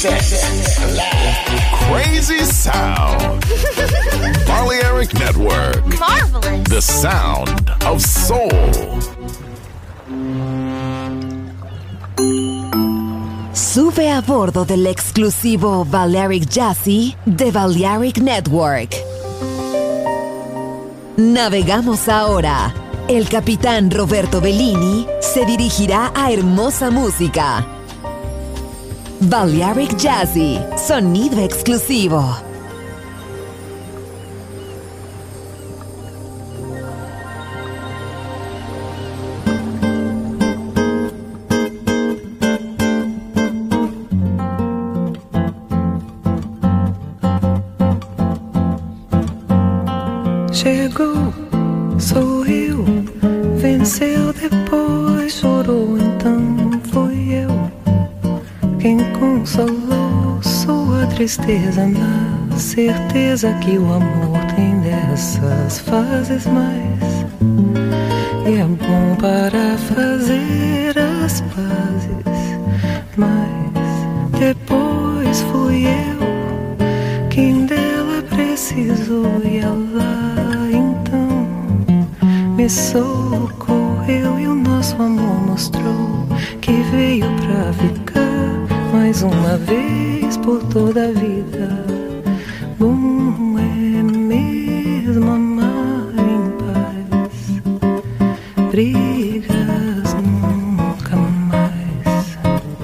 Crazy sound. Balearic Network. Marvelous. The sound of soul. Sube a bordo del exclusivo Balearic Jazzy de Balearic Network. Navegamos ahora. El capitán Roberto Bellini se dirigirá a hermosa música. Balearic Jazzy, sonido exclusivo. Chegou, sou eu, venceu depois, chorou, então fui eu quem consolou sua tristeza, na certeza que o amor tem dessas fases mais, e é bom para fazer as pazes, mas depois fui eu quem dela precisou, e ela então me socorreu, e o nosso amor mostrou que veio pra ficar mais uma vez por toda a vida. Bom é mesmo amar em paz, brigas nunca mais.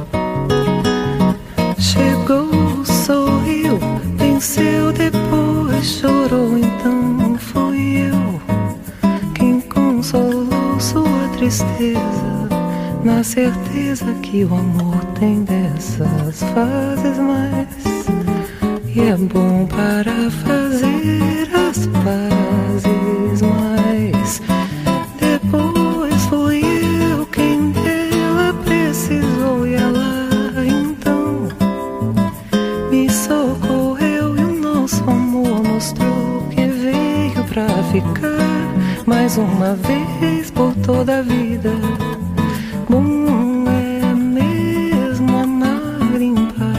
Chegou, sorriu, venceu, depois chorou, então fui eu quem consolou sua tristeza, na certeza que o amor tem dessas fases mais, e é bom para fazer as pazes, mas depois fui eu quem dela precisou, e ela então me socorreu, e o nosso amor mostrou que veio pra ficar mais uma vez por toda a vida. Bom é mesmo amar em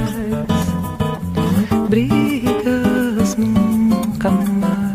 paz, brigas nunca mais.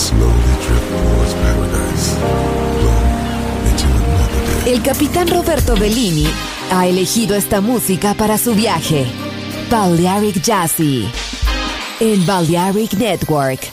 slowly drift towards paradise, blown into another day. El capitán Roberto Bellini ha elegido esta música para su viaje. Balearic Jazzy en Balearic Network.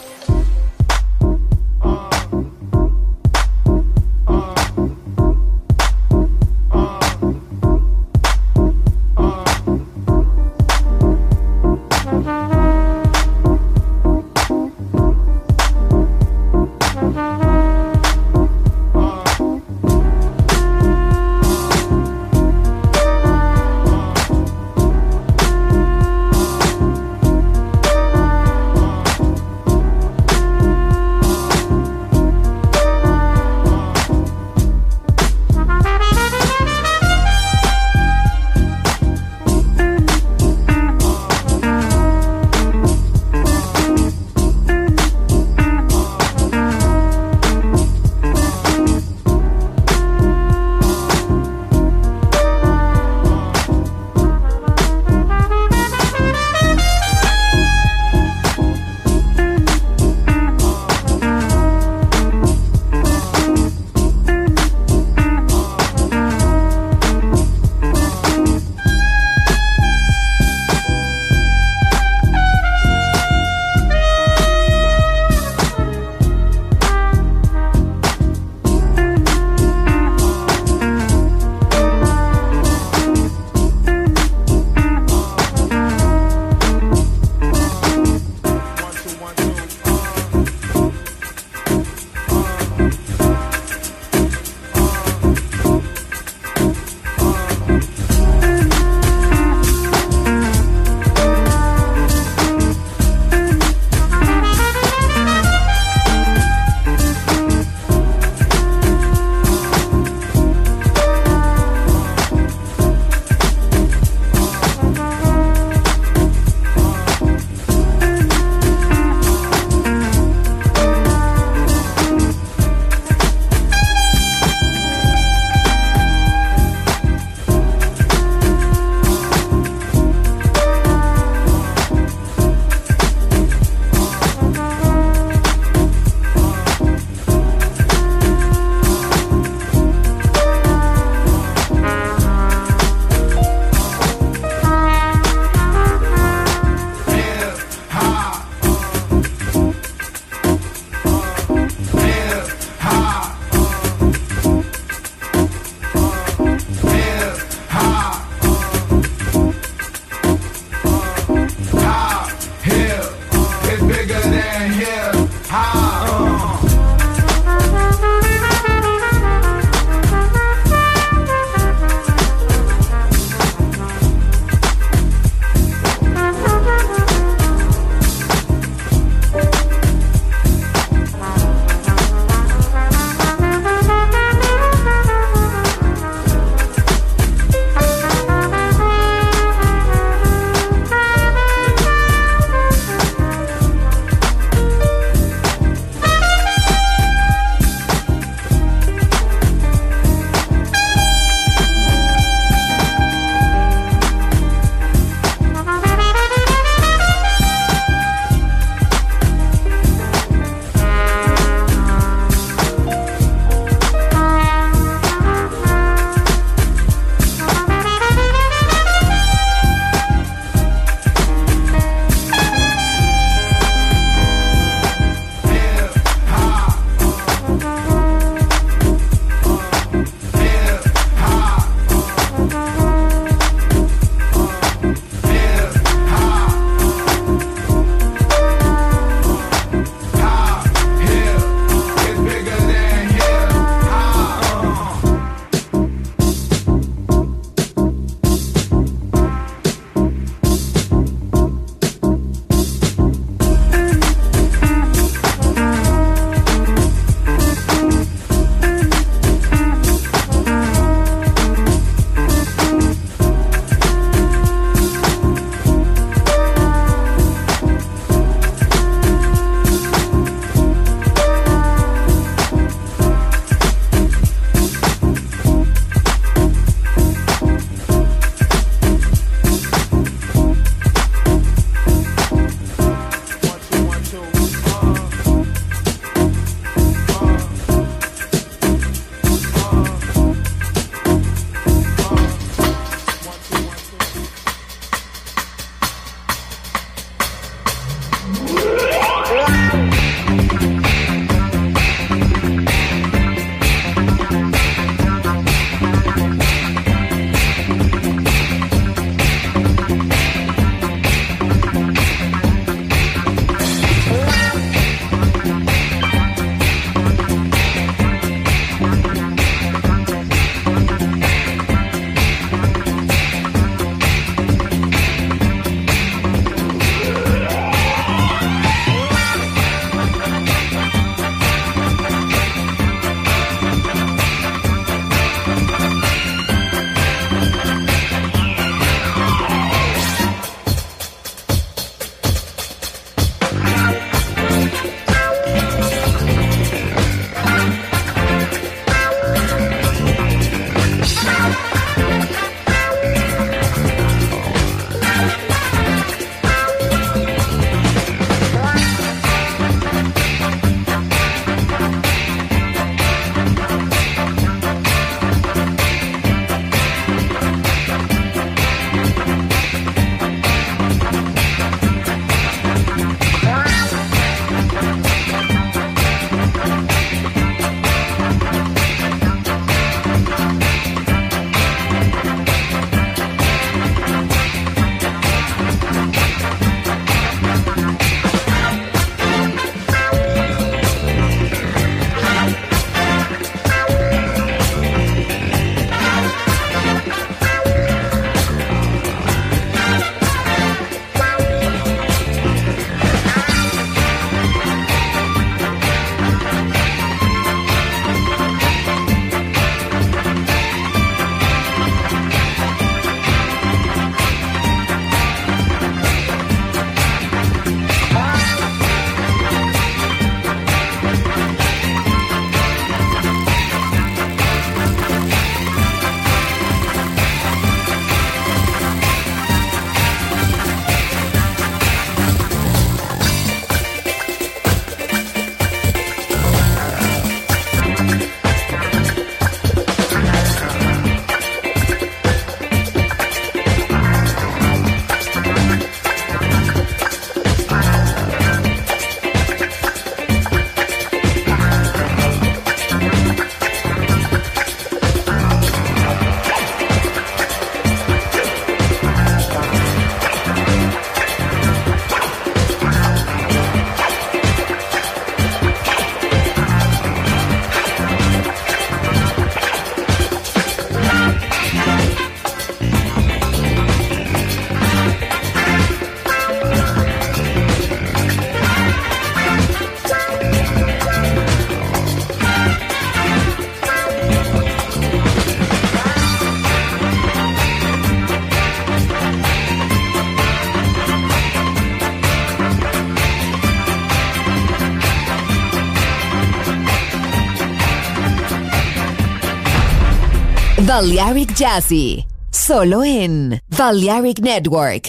Balearic Jazzy, solo en Balearic Network.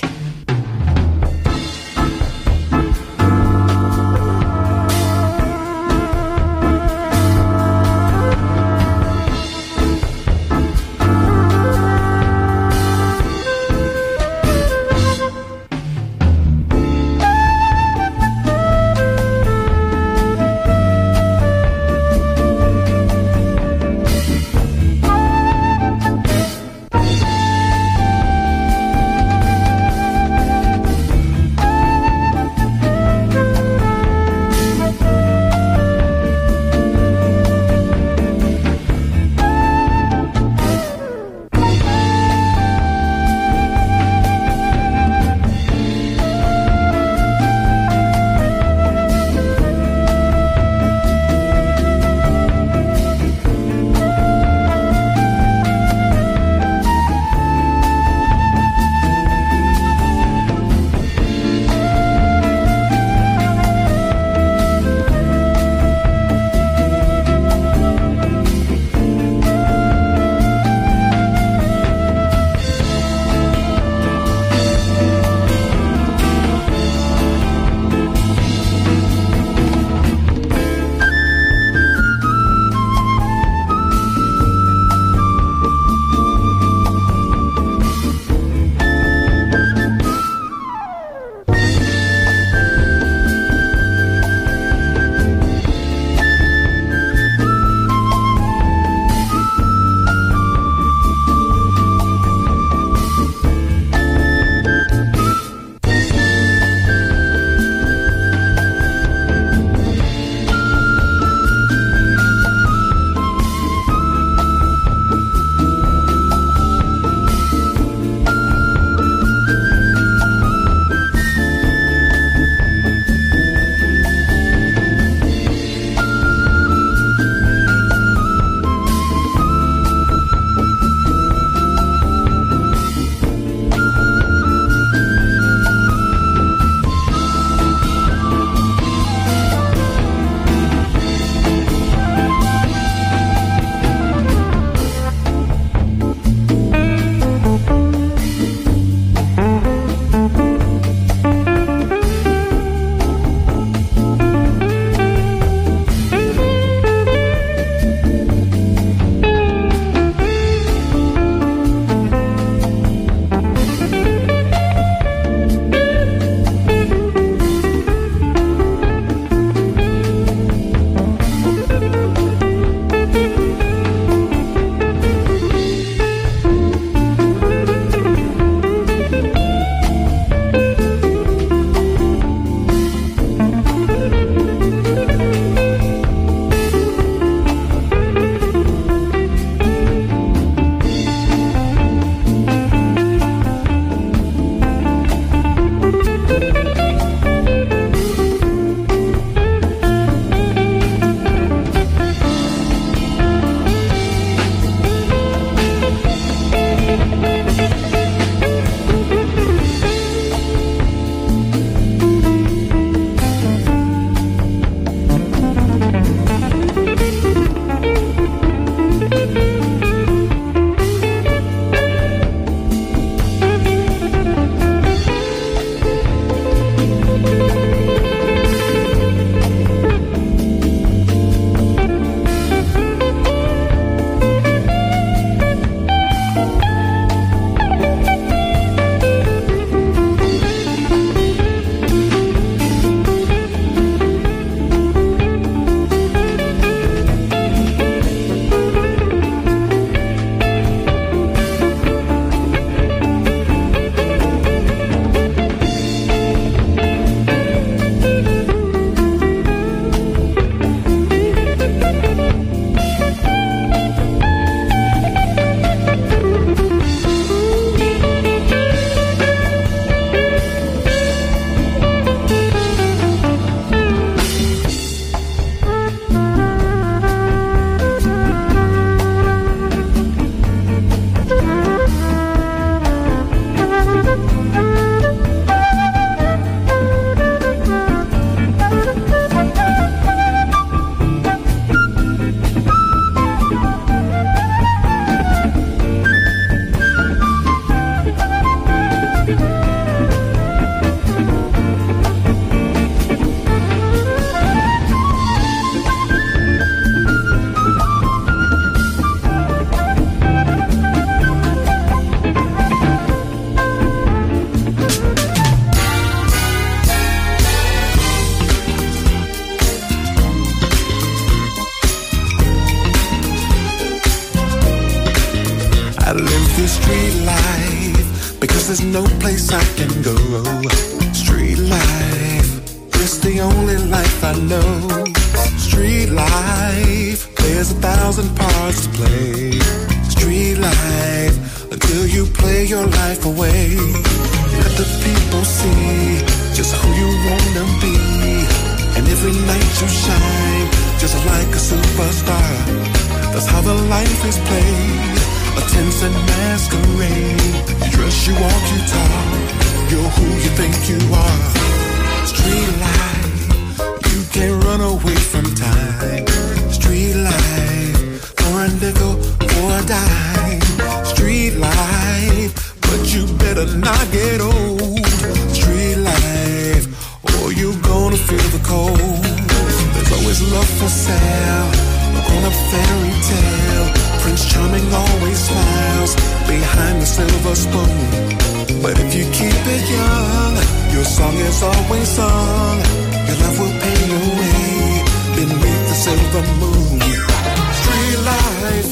Street life, because there's no place I can go. Street life, it's the only life I know. Street life, there's 1,000 parts to play. Street life, until you play your life away. Let the people see just who you wanna be. And every night you shine, just like a superstar. That's how the life is played. A tense and masquerade. You dress, you walk, you talk. You're who you think you are. Street life, you can't run away from time. Street life, for a nickel, for a dime. Street life, but you better not get old. Street life, or you're gonna feel the cold. There's always love for sale, on a fairy tale. Prince Charming always smiles behind the silver spoon. But if you keep it young, your song is always sung. Your love will pay your way beneath the silver moon. Street life,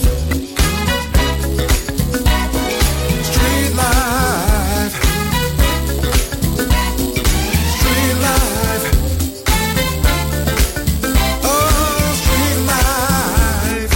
street life, street life. Oh, street life.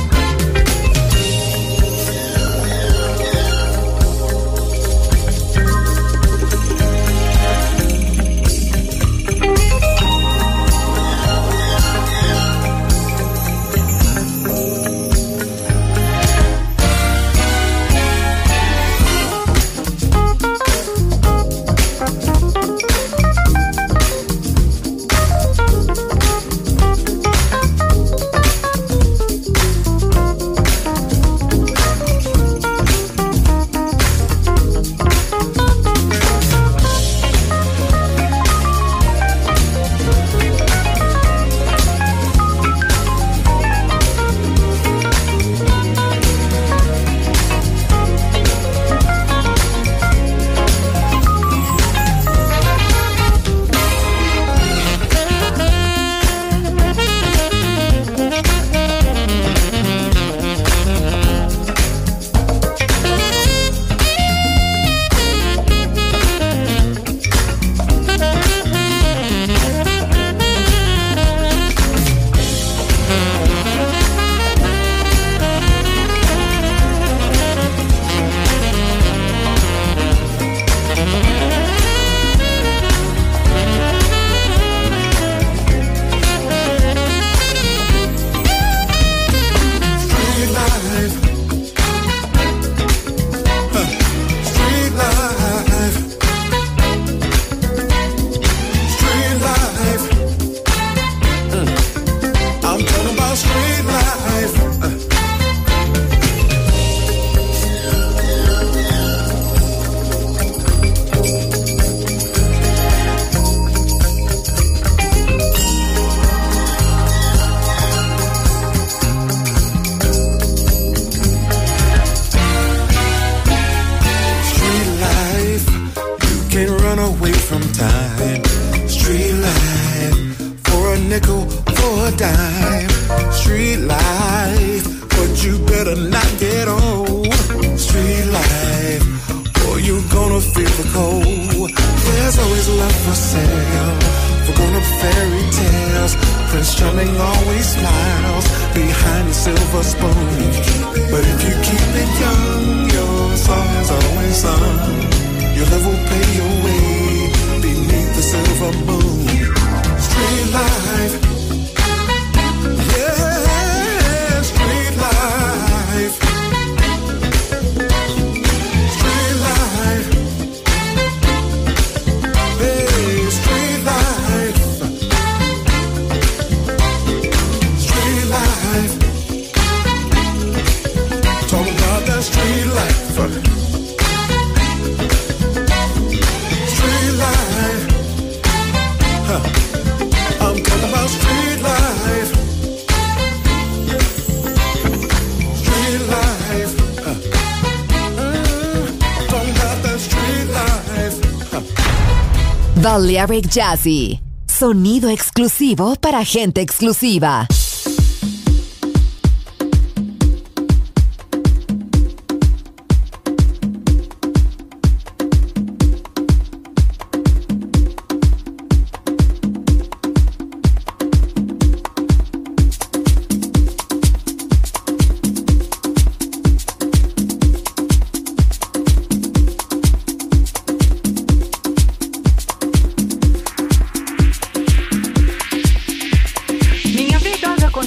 Balearic Jazzy, sonido exclusivo para gente exclusiva.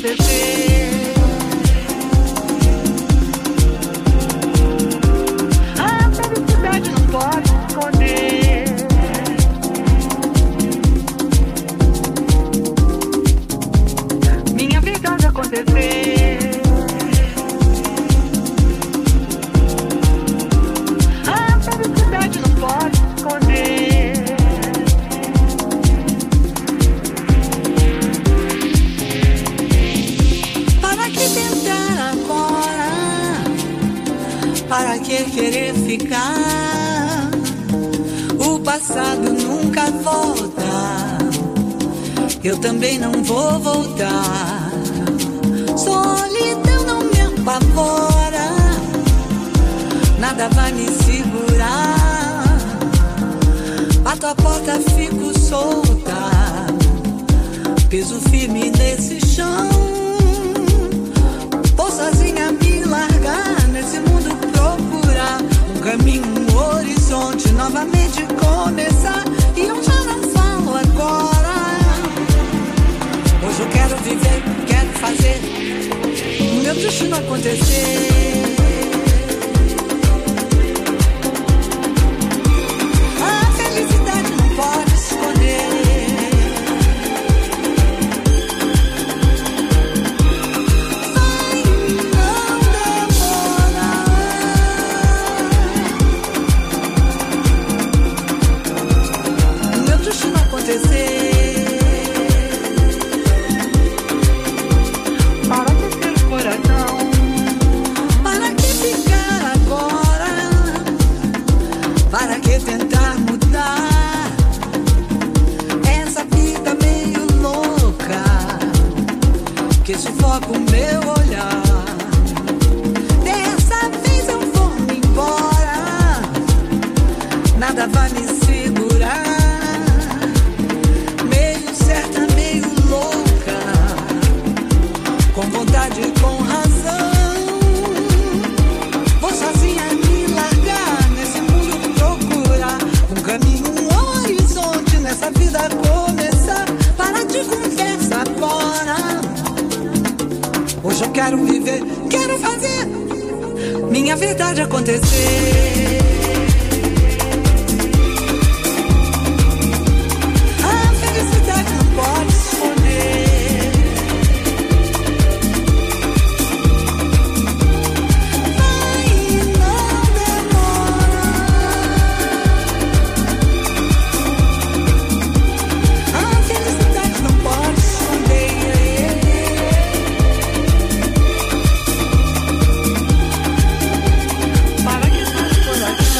acontecer. A felicidade não pode se esconder. Minha verdade acontecer. A felicidade não pode se esconder. Para que tentar agora? Para que querer ficar? O passado nunca volta. Eu também não vou voltar. Solidão não me apavora. Nada vai me segurar. Bato a porta, fico solta. Peso firme nesse chão. Vou sozinha me largar nesse mundo, procurar um caminho, um horizonte, novamente começar. E eu já não falo agora. Hoje eu quero viver, quero fazer o meu destino acontecer. A felicidade não pode se esconder. Para que ter coração? Para que ficar agora? Para que tentar mudar essa vida meio louca que sufoca o meu olhar? Dessa vez eu vou me embora. Nada vai me segurar. Com vontade e com razão, vou sozinha me largar nesse mundo, procurar um caminho, um horizonte, nessa vida começar. Para de conversa agora. Hoje eu quero viver, quero fazer minha verdade acontecer. A felicidade não pode se esconder. Para que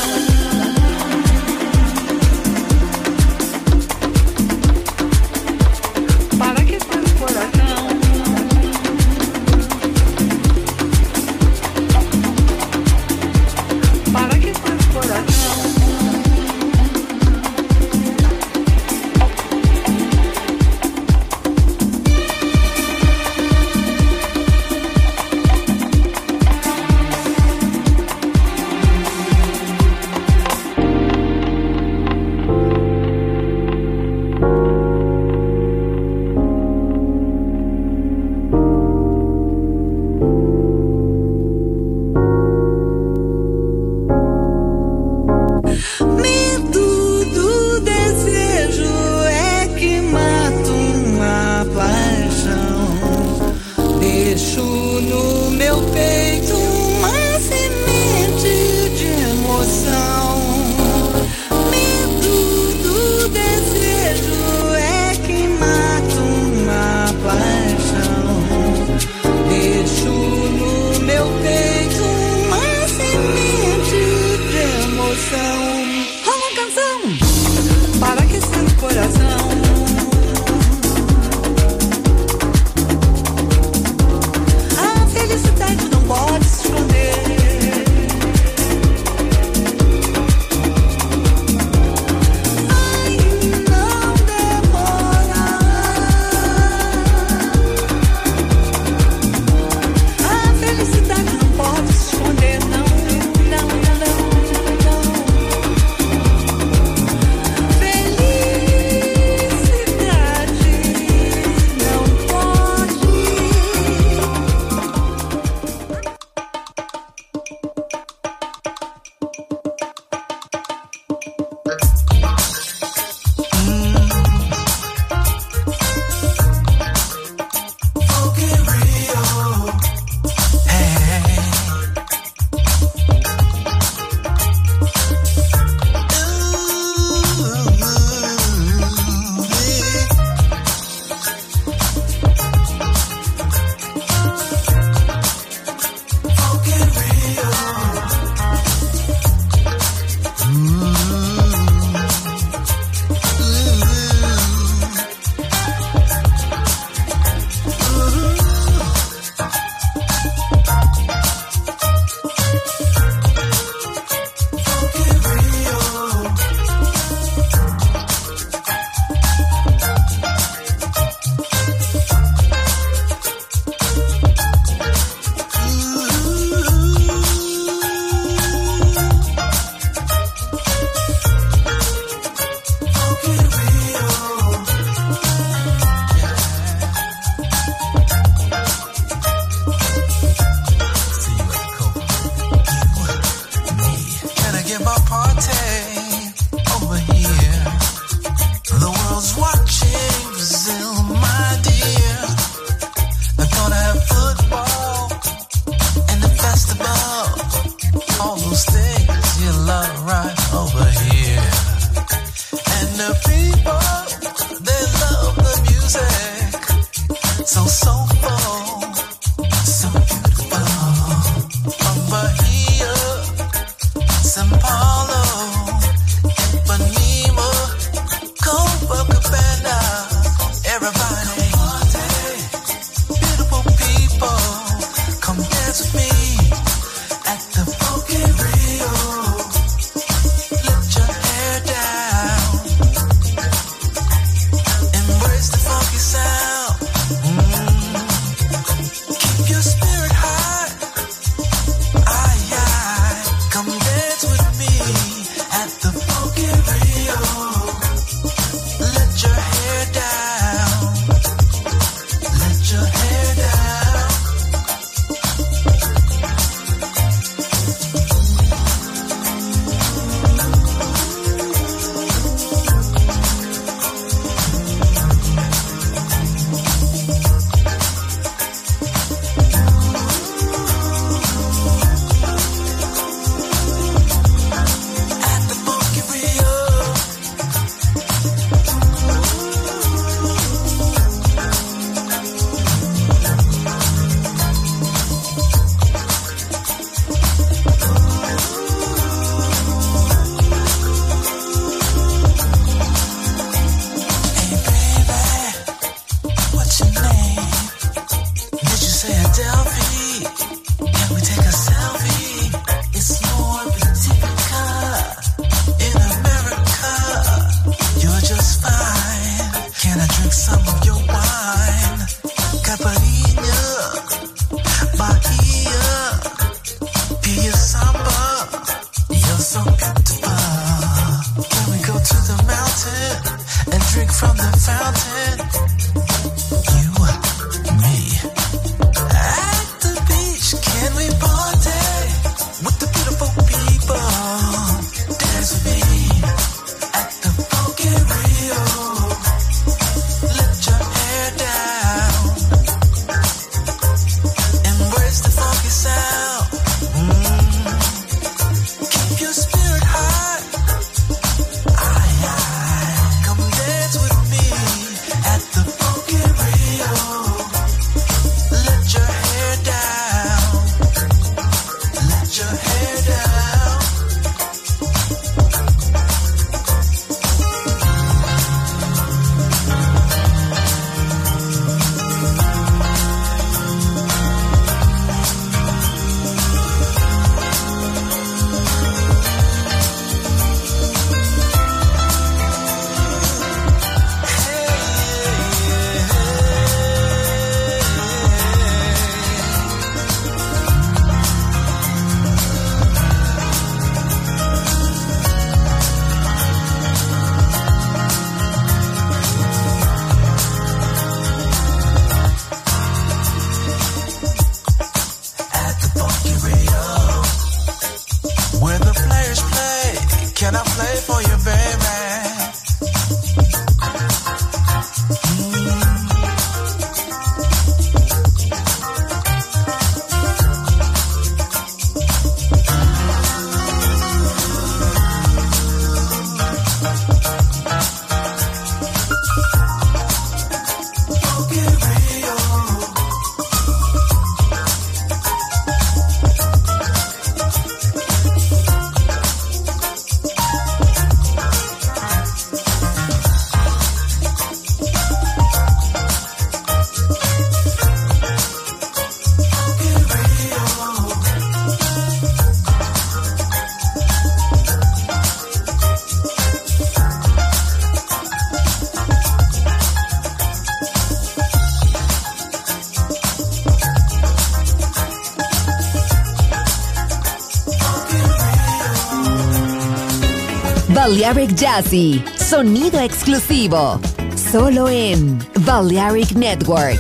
Balearic Jazzy, sonido exclusivo, solo en Balearic Network.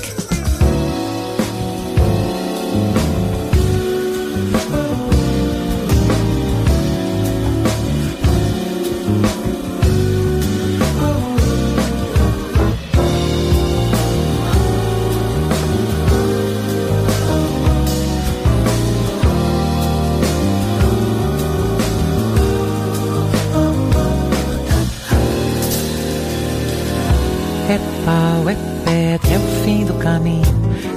Epa, ué, até o fim do caminho.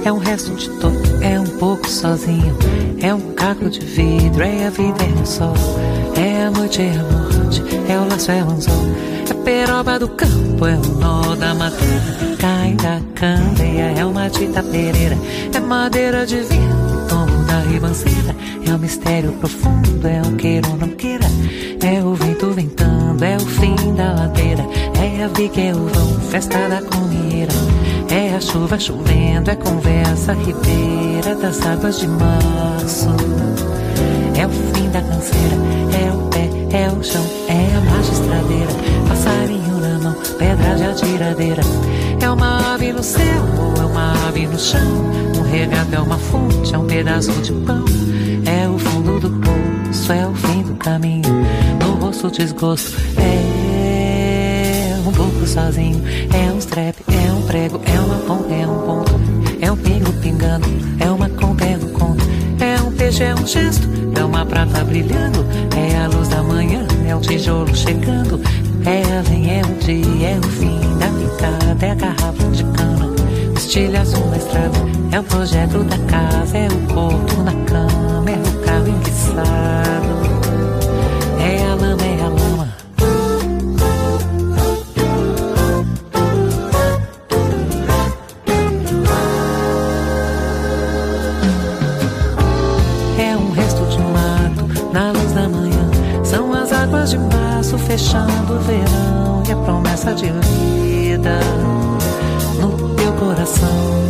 é um resto de toco, é um pouco sozinho, é um caco de vidro, é a vida, é o sol, é a noite, é a morte, é o laço, é o anzol, é peroba do campo, é o nó da madeira, cai da candeia, é uma tita pereira, é madeira de vinho, tombo da ribanceira, é um mistério profundo, é um queira ou não queira, é o vento ventando, é o fim da ladeira, é a viga, é o vão, festa da comieira, é a chuva chovendo, é conversa ribeira das águas de março, é o fim da canseira, é o pé, é o chão, é a magistradeira, passarinho na mão, pedra de atiradeira, é uma ave no céu, ou é uma ave no chão, um regato é uma fonte, é um pedaço de pão, é o fundo do poço, é o fim do caminho, no rosto desgosto, é um pouco sozinho, é um strep, é um prego, é uma ponta, é um ponto, é um pingo pingando, é uma conta, é um conto, é um peixe, é um gesto, é uma prata brilhando, é a luz da manhã, é um tijolo chegando, é além, é um dia, é o fim da picada, é a garrafa de cana, o estilhaço na estrada, é o projeto da casa, é o corpo na cama, é o carro enguiçado, é a lama, é a lama. Na luz da manhã, são as águas de março fechando o verão e a promessa de vida no teu coração.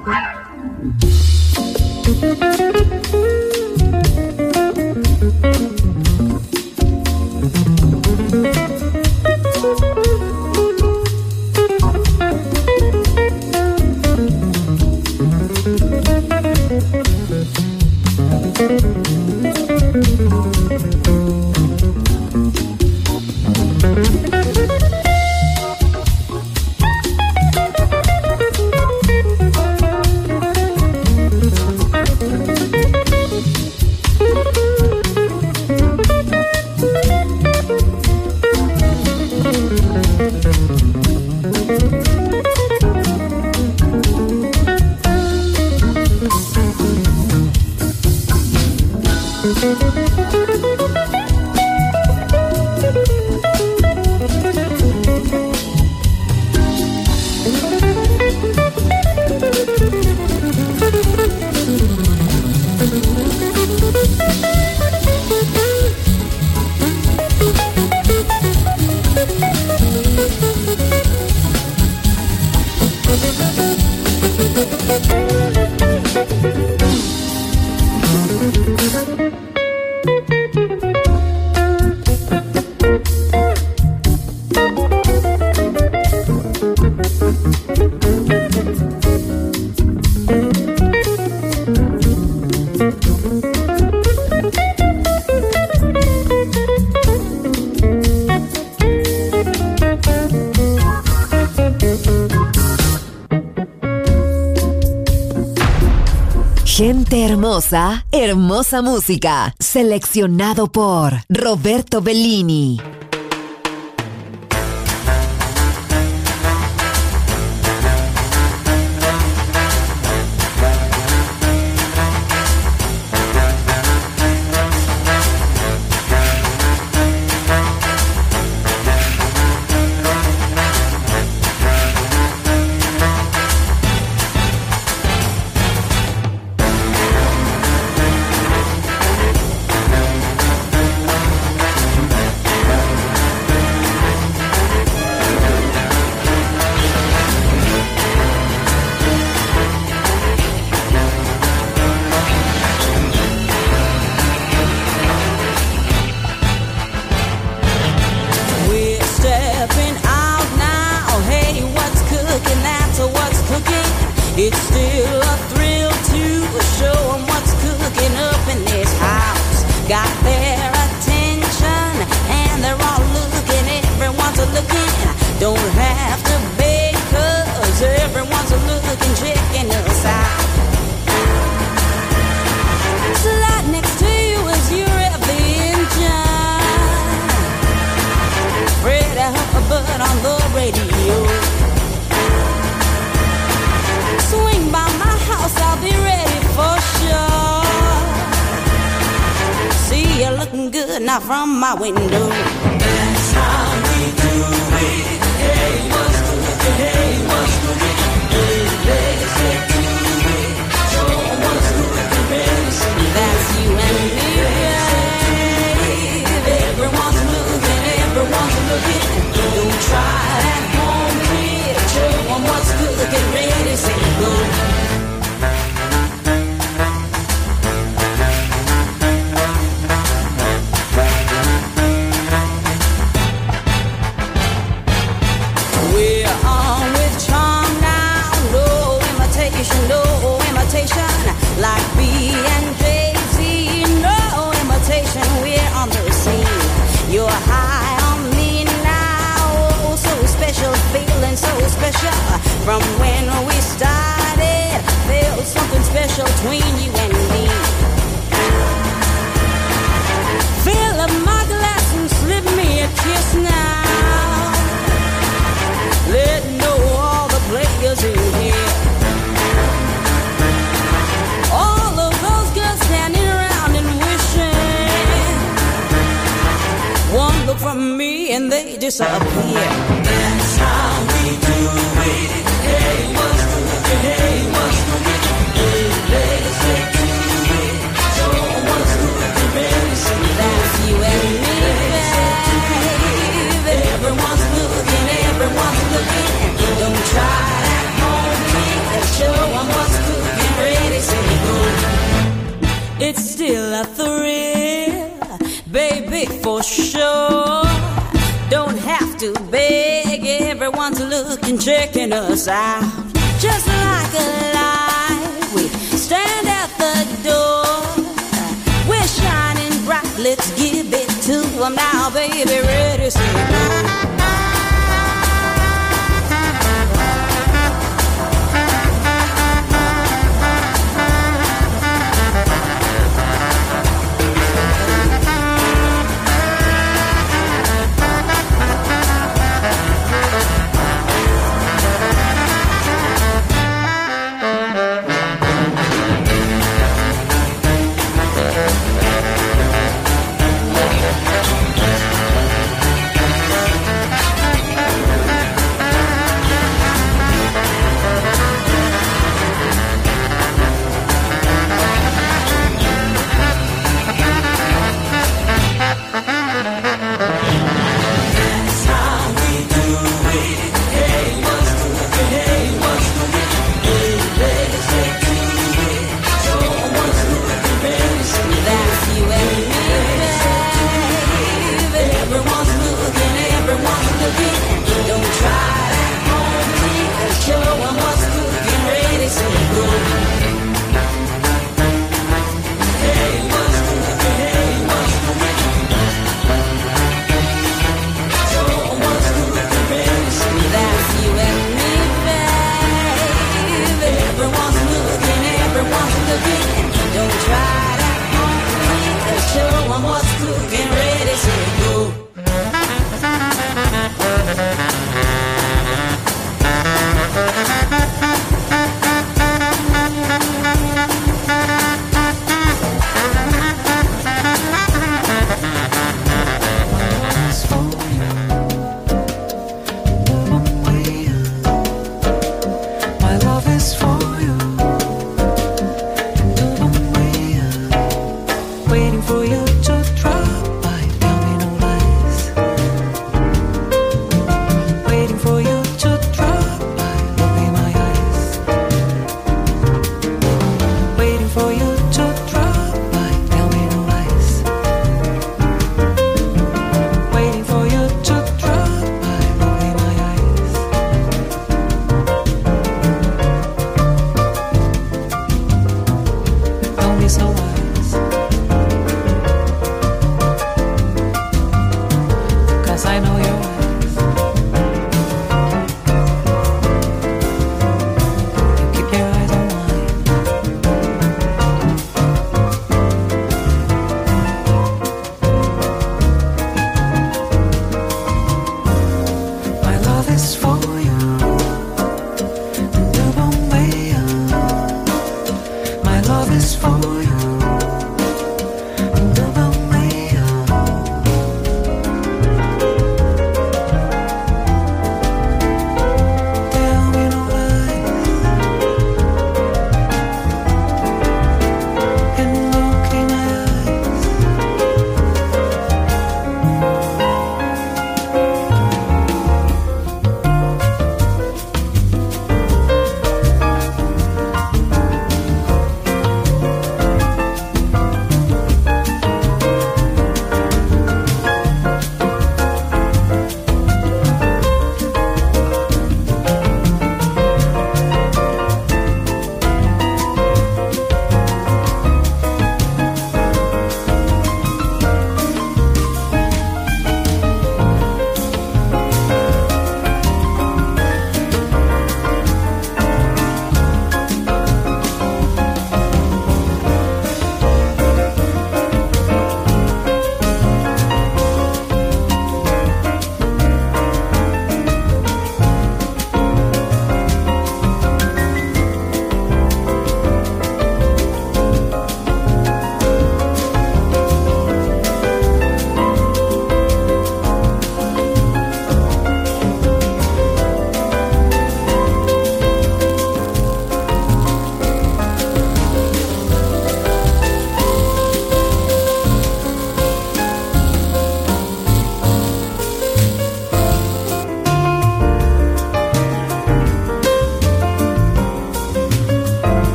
Gente hermosa, hermosa música. Seleccionado por Roberto Bellini. It's still a thrill to show them what's cooking up in this house. Got their attention and they're all looking, everyone's a looking. Don't have to beg cause everyone's a looking, checking us out. Slide next to you as you rev the engine. Freddie Hubbard on the radio. Swing by my house, I'll be ready for sure. See you looking good now from my window. That's how we do it. Hey, what's cooking? Hey, what's cooking? Let's get to it. Show 'em what's cooking, baby. That's you and me, babe. Everyone's looking. Don't try at home, kid. Show 'em what's cooking, ready, say go. We're on with charm now, no imitation, like B and Jay-Z, no imitation, we're on the scene. You're high on me now, oh, so special, feeling so special. From when we started, felt something special between you and me. Fill up my glass and slip me a kiss now. Let know all the players in here. All of those girls standing around and wishing. One look from me and they disappear. That's how we do it. Hey, what's cooking? Hey, what's cooking? Let's get to it. Show 'em what's cooking, baby. That's you and me, babe. Everyone's looking. Don't try at home, kid. Show 'em what's it's still a thrill, baby, for sure. Don't have to beg everyone to look and checking us out, just like a